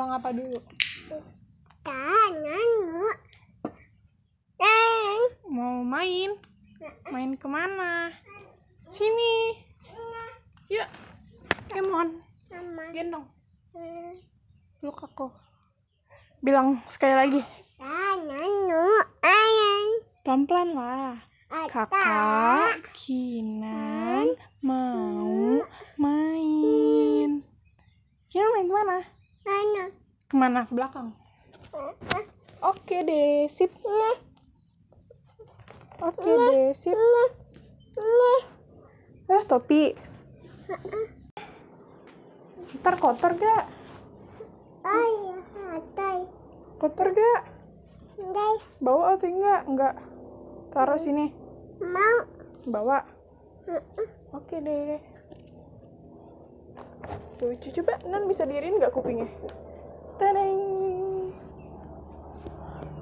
bilang apa dulu? Mau main? Main kemana? Sini. Yuk. Emon. Gendong. Peluk aku. Bilang sekali lagi. Pelan-pelan lah. Kakak Kinan mau main. Kinan main kemana? Kemana? Ke belakang. Oke deh, sip. Oke deh, sip. Topi. Ntar kotor gak? Kotor gak? Bawa atau enggak? Enggak. Taruh sini. Bawa. Oke deh. Tuh, coba Nan bisa diriin nggak kupingnya? Tadang.